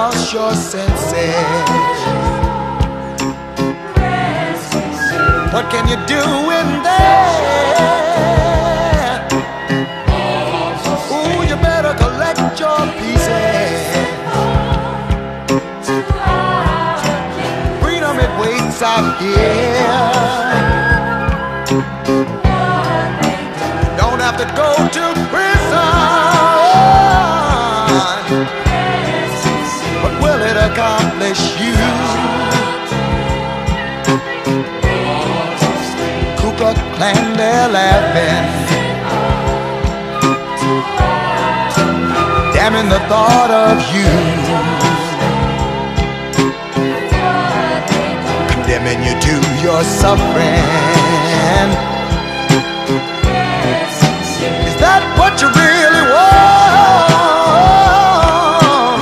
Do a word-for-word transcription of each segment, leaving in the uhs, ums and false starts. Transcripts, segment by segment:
lost your senses. What can you do in there? Ooh, you better collect your pieces. Freedom, it waits out here. Don't have to go to prison. What will it accomplish you? Ku Klux Klan, they're laughing, damning the thought of you, condemning you to your suffering. Is that what you really want?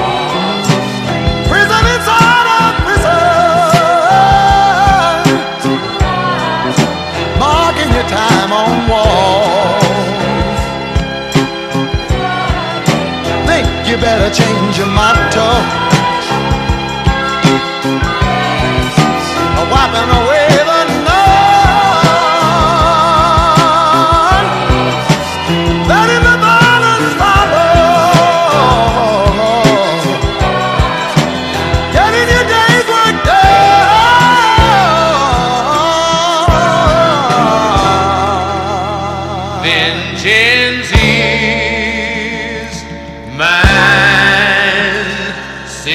Prison inside of prison, marking your time on walls. Think you better change your motto, wiping away the night, letting the violence follow, getting your day's work done. Vengeance is mine,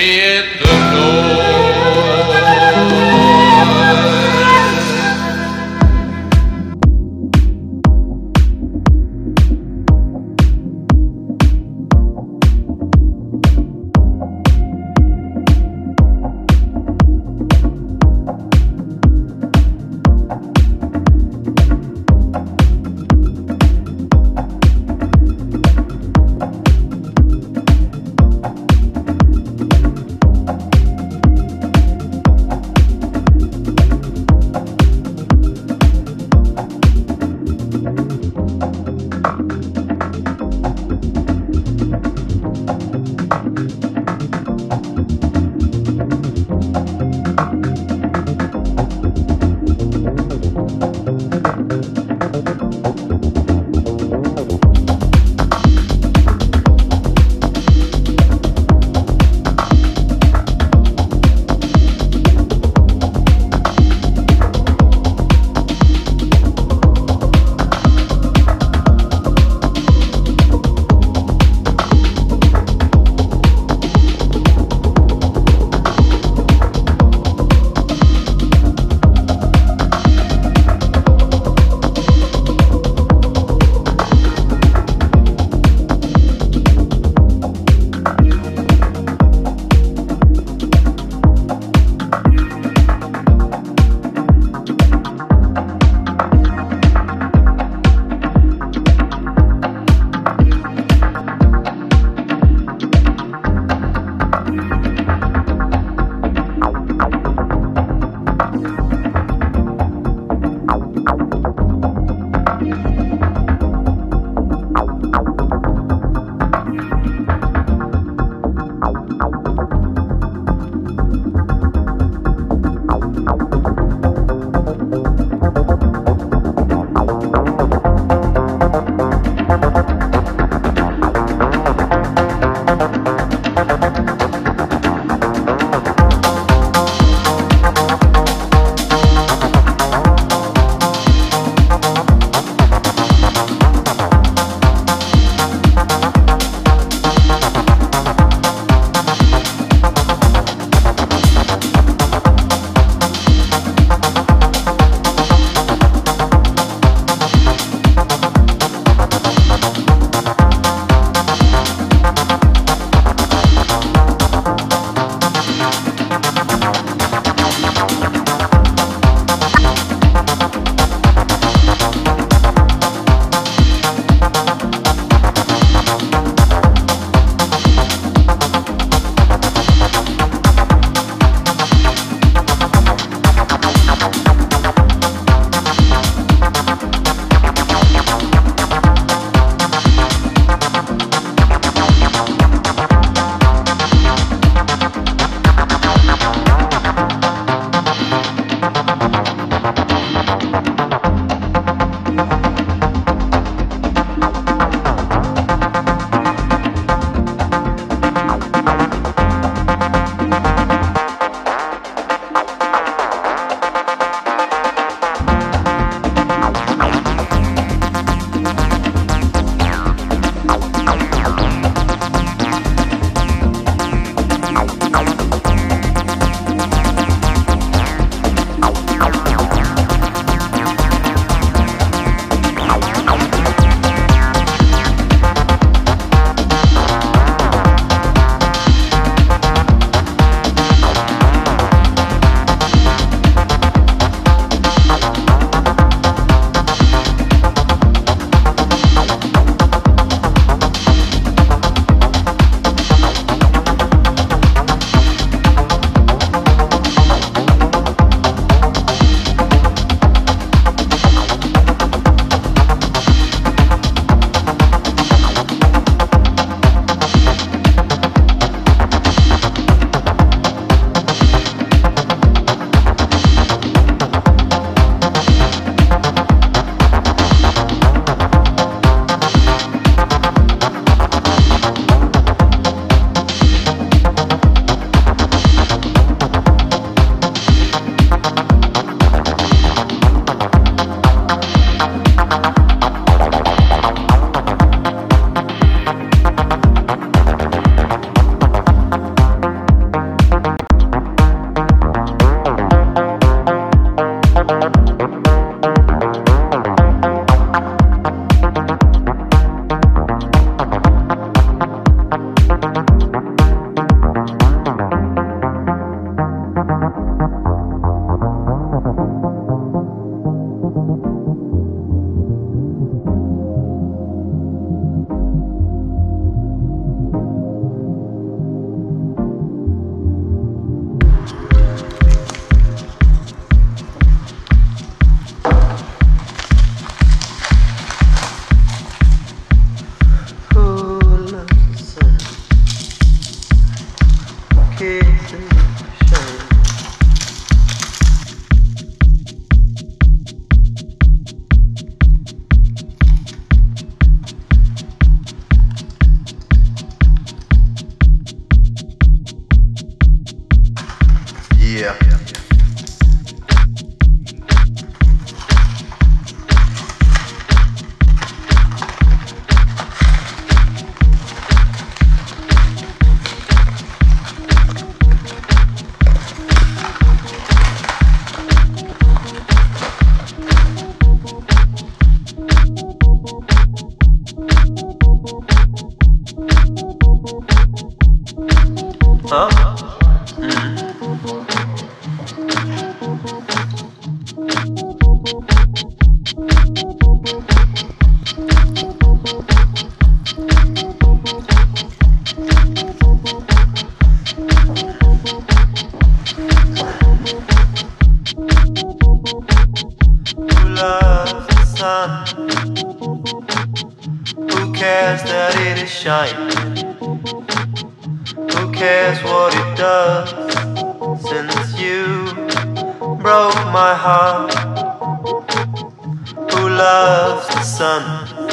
shining. Who cares what it does? Since you broke my heart. Who loves the sun?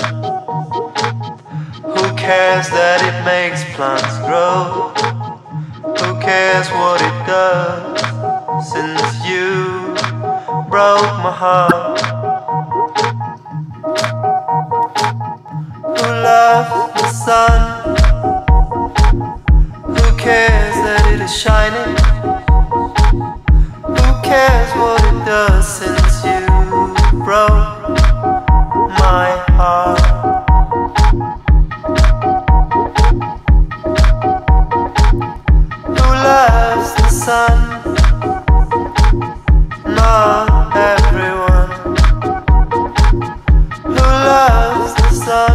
Who cares that it makes plants grow? Who cares what it does? Since you broke my heart. Who loves the sun? Who cares that it is shining? Who cares what it does since you broke my heart? Who loves the sun? Not everyone. Who loves the sun?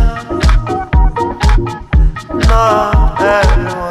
Not everyone.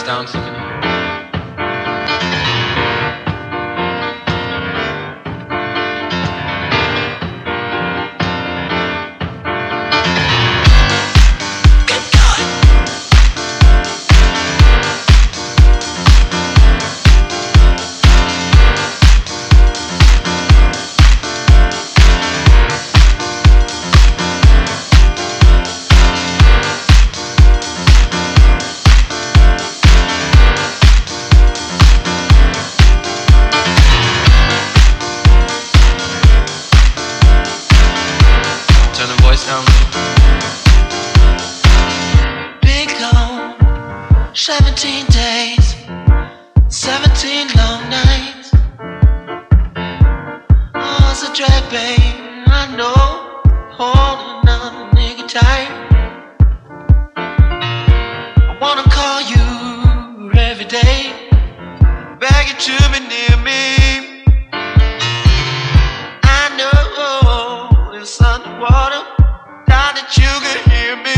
Down Symphony. Seventeen days, seventeen long nights. Oh, it's a drag, babe, I know. Holding on, nigga, tight. I wanna call you every day, beg you to be near me. I know it's underwater, thought that you could hear me.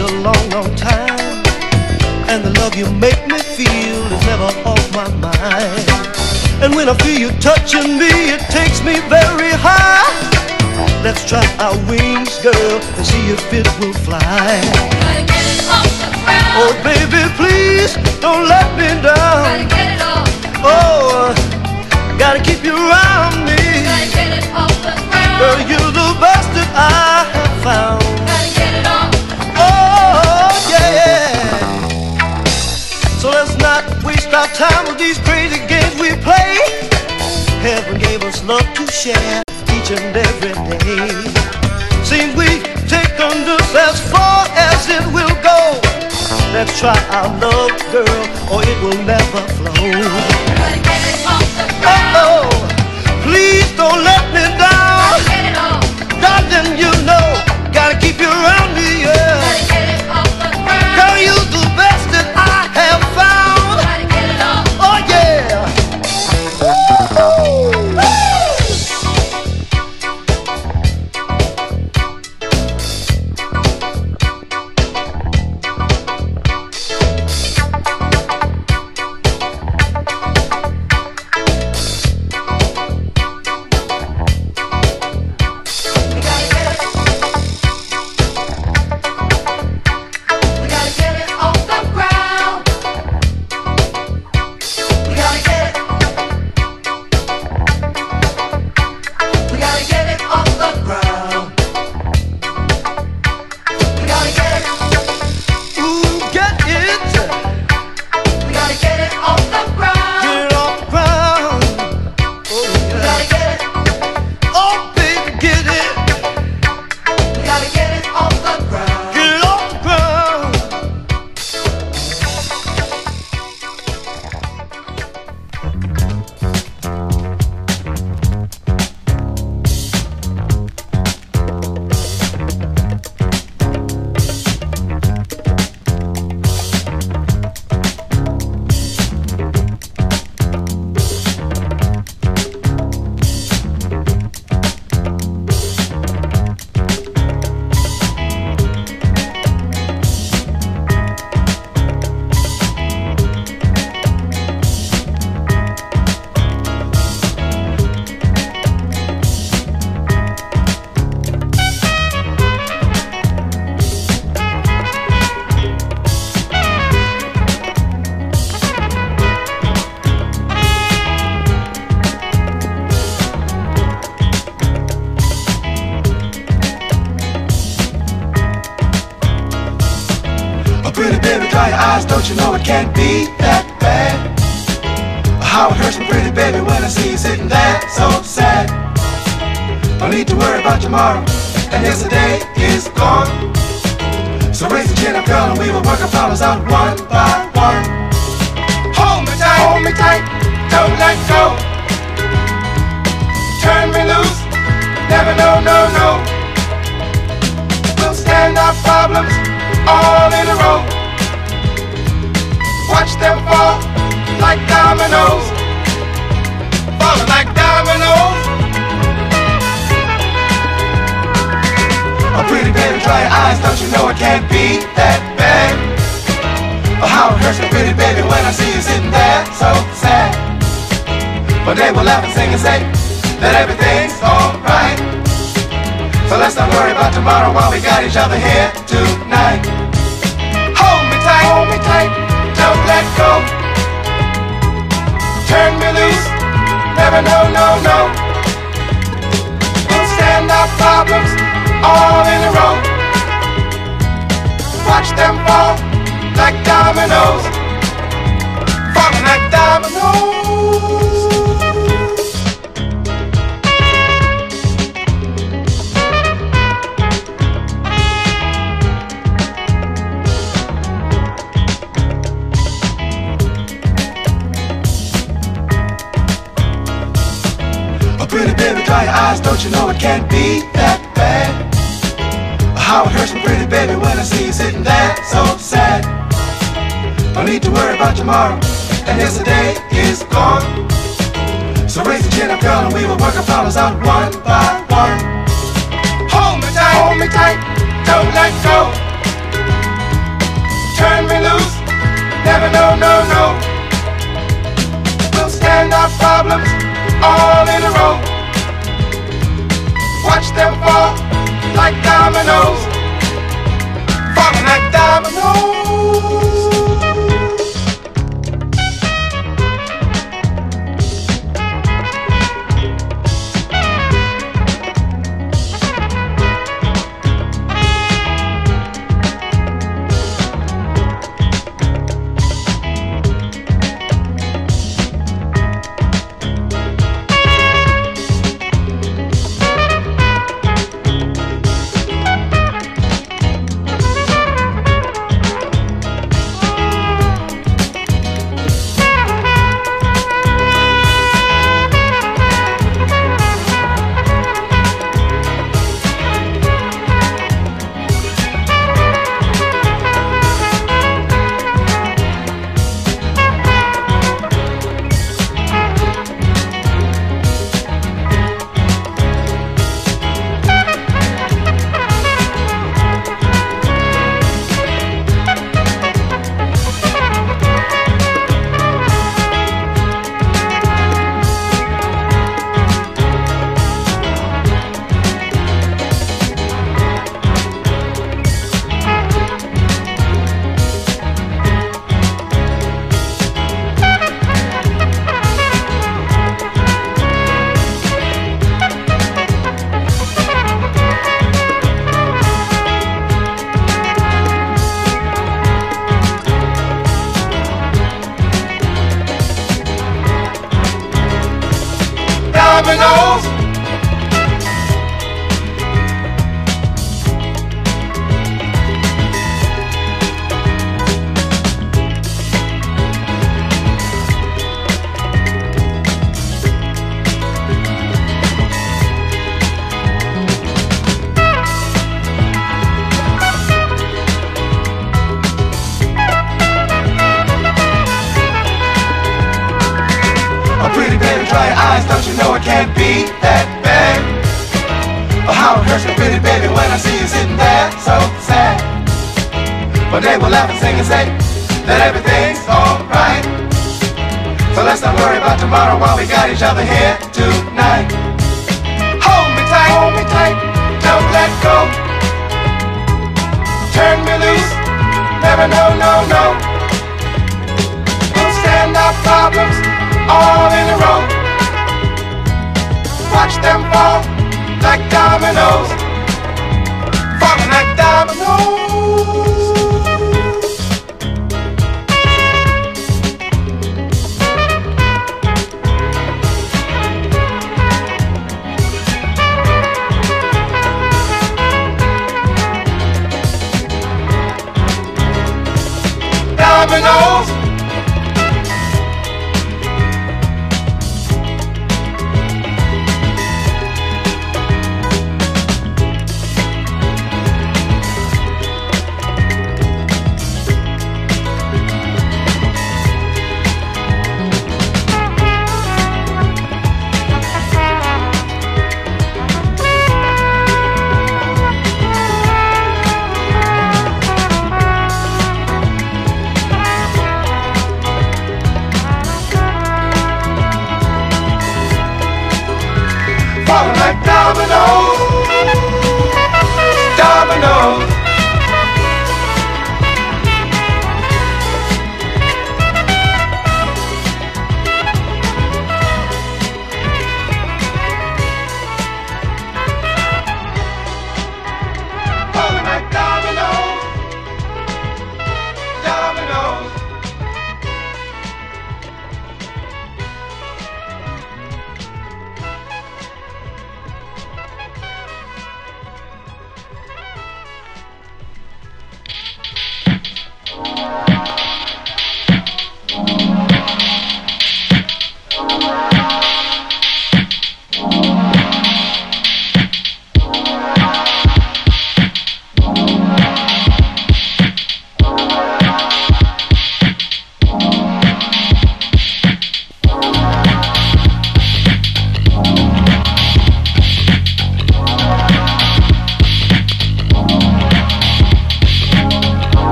a long, long time, and the love you make me feel is never off my mind. And when I feel you touching me, it takes me very high. Let's try our wings, girl, and see if it will fly. Gotta get it off the ground. Oh, baby, please don't let me down. Gotta get it off. Oh, gotta keep you around me. Gotta get it off the ground. Girl, you're the best that I have found. Gotta get it off. Oh, yeah. So let's not waste our time with these crazy games we play. Heaven gave us love to share each and every day. Seems we take on this as far as it will go. Let's try our love, girl, or it will never flow. Gotta get it off the ground. Oh, please don't let me down. Gotta get it off. Darling, you know, gotta keep you around me, yeah. Gotta get it off the ground. Girl, you're the best that I have found. Gotta get it off. Oh, yeah. Don't you know it can't be that bad? How it hurts me, pretty baby, when I see you sitting there so sad. Don't need to worry about tomorrow, and yesterday is gone. So raise the chin up, girl, and we will work our problems out one by one. Hold me tight, hold me tight, don't let go. Turn me loose, never no, no, no. We'll stand our problems all in a row. Watch them fall like dominoes, falling like dominoes. Oh, pretty baby, dry your eyes, don't you know it can't be that bad? Oh, how it hurts me, pretty baby, when I see you sitting there so sad. But they will laugh and sing and say that everything's alright. So let's not worry about tomorrow while we got each other here tonight. Hold me tight, hold me tight, don't let go. Turn me loose, never no, no, no. We'll stand our problems all in a row. Watch them fall like dominoes, falling like dominoes. Pretty baby, dry your eyes, don't you know it can't be that bad? How it hurts me, pretty baby, when I see you sitting there so sad. Don't need to worry about tomorrow, and yesterday is gone. So raise the chin up, girl, and we will work our problems out one by one. Hold me tight, hold me tight, don't let go. problems all in a row. Watch them fall like dominoes, falling like dominoes. Dominoes. A pretty baby, dry your eyes, don't you know it can't be that bad? Oh, how it hurts me, pretty baby, when I see you sitting there so sad. But they will laugh and sing and say that everything's alright. So let's not worry about tomorrow while we got each other here tonight. Hold me tight, hold me tight, don't let go. Turn me loose, never no, no, no. We'll stand our problems all in a row. Watch them fall like dominoes, falling like dominoes. Dominoes. Falling like dominoes, dominoes.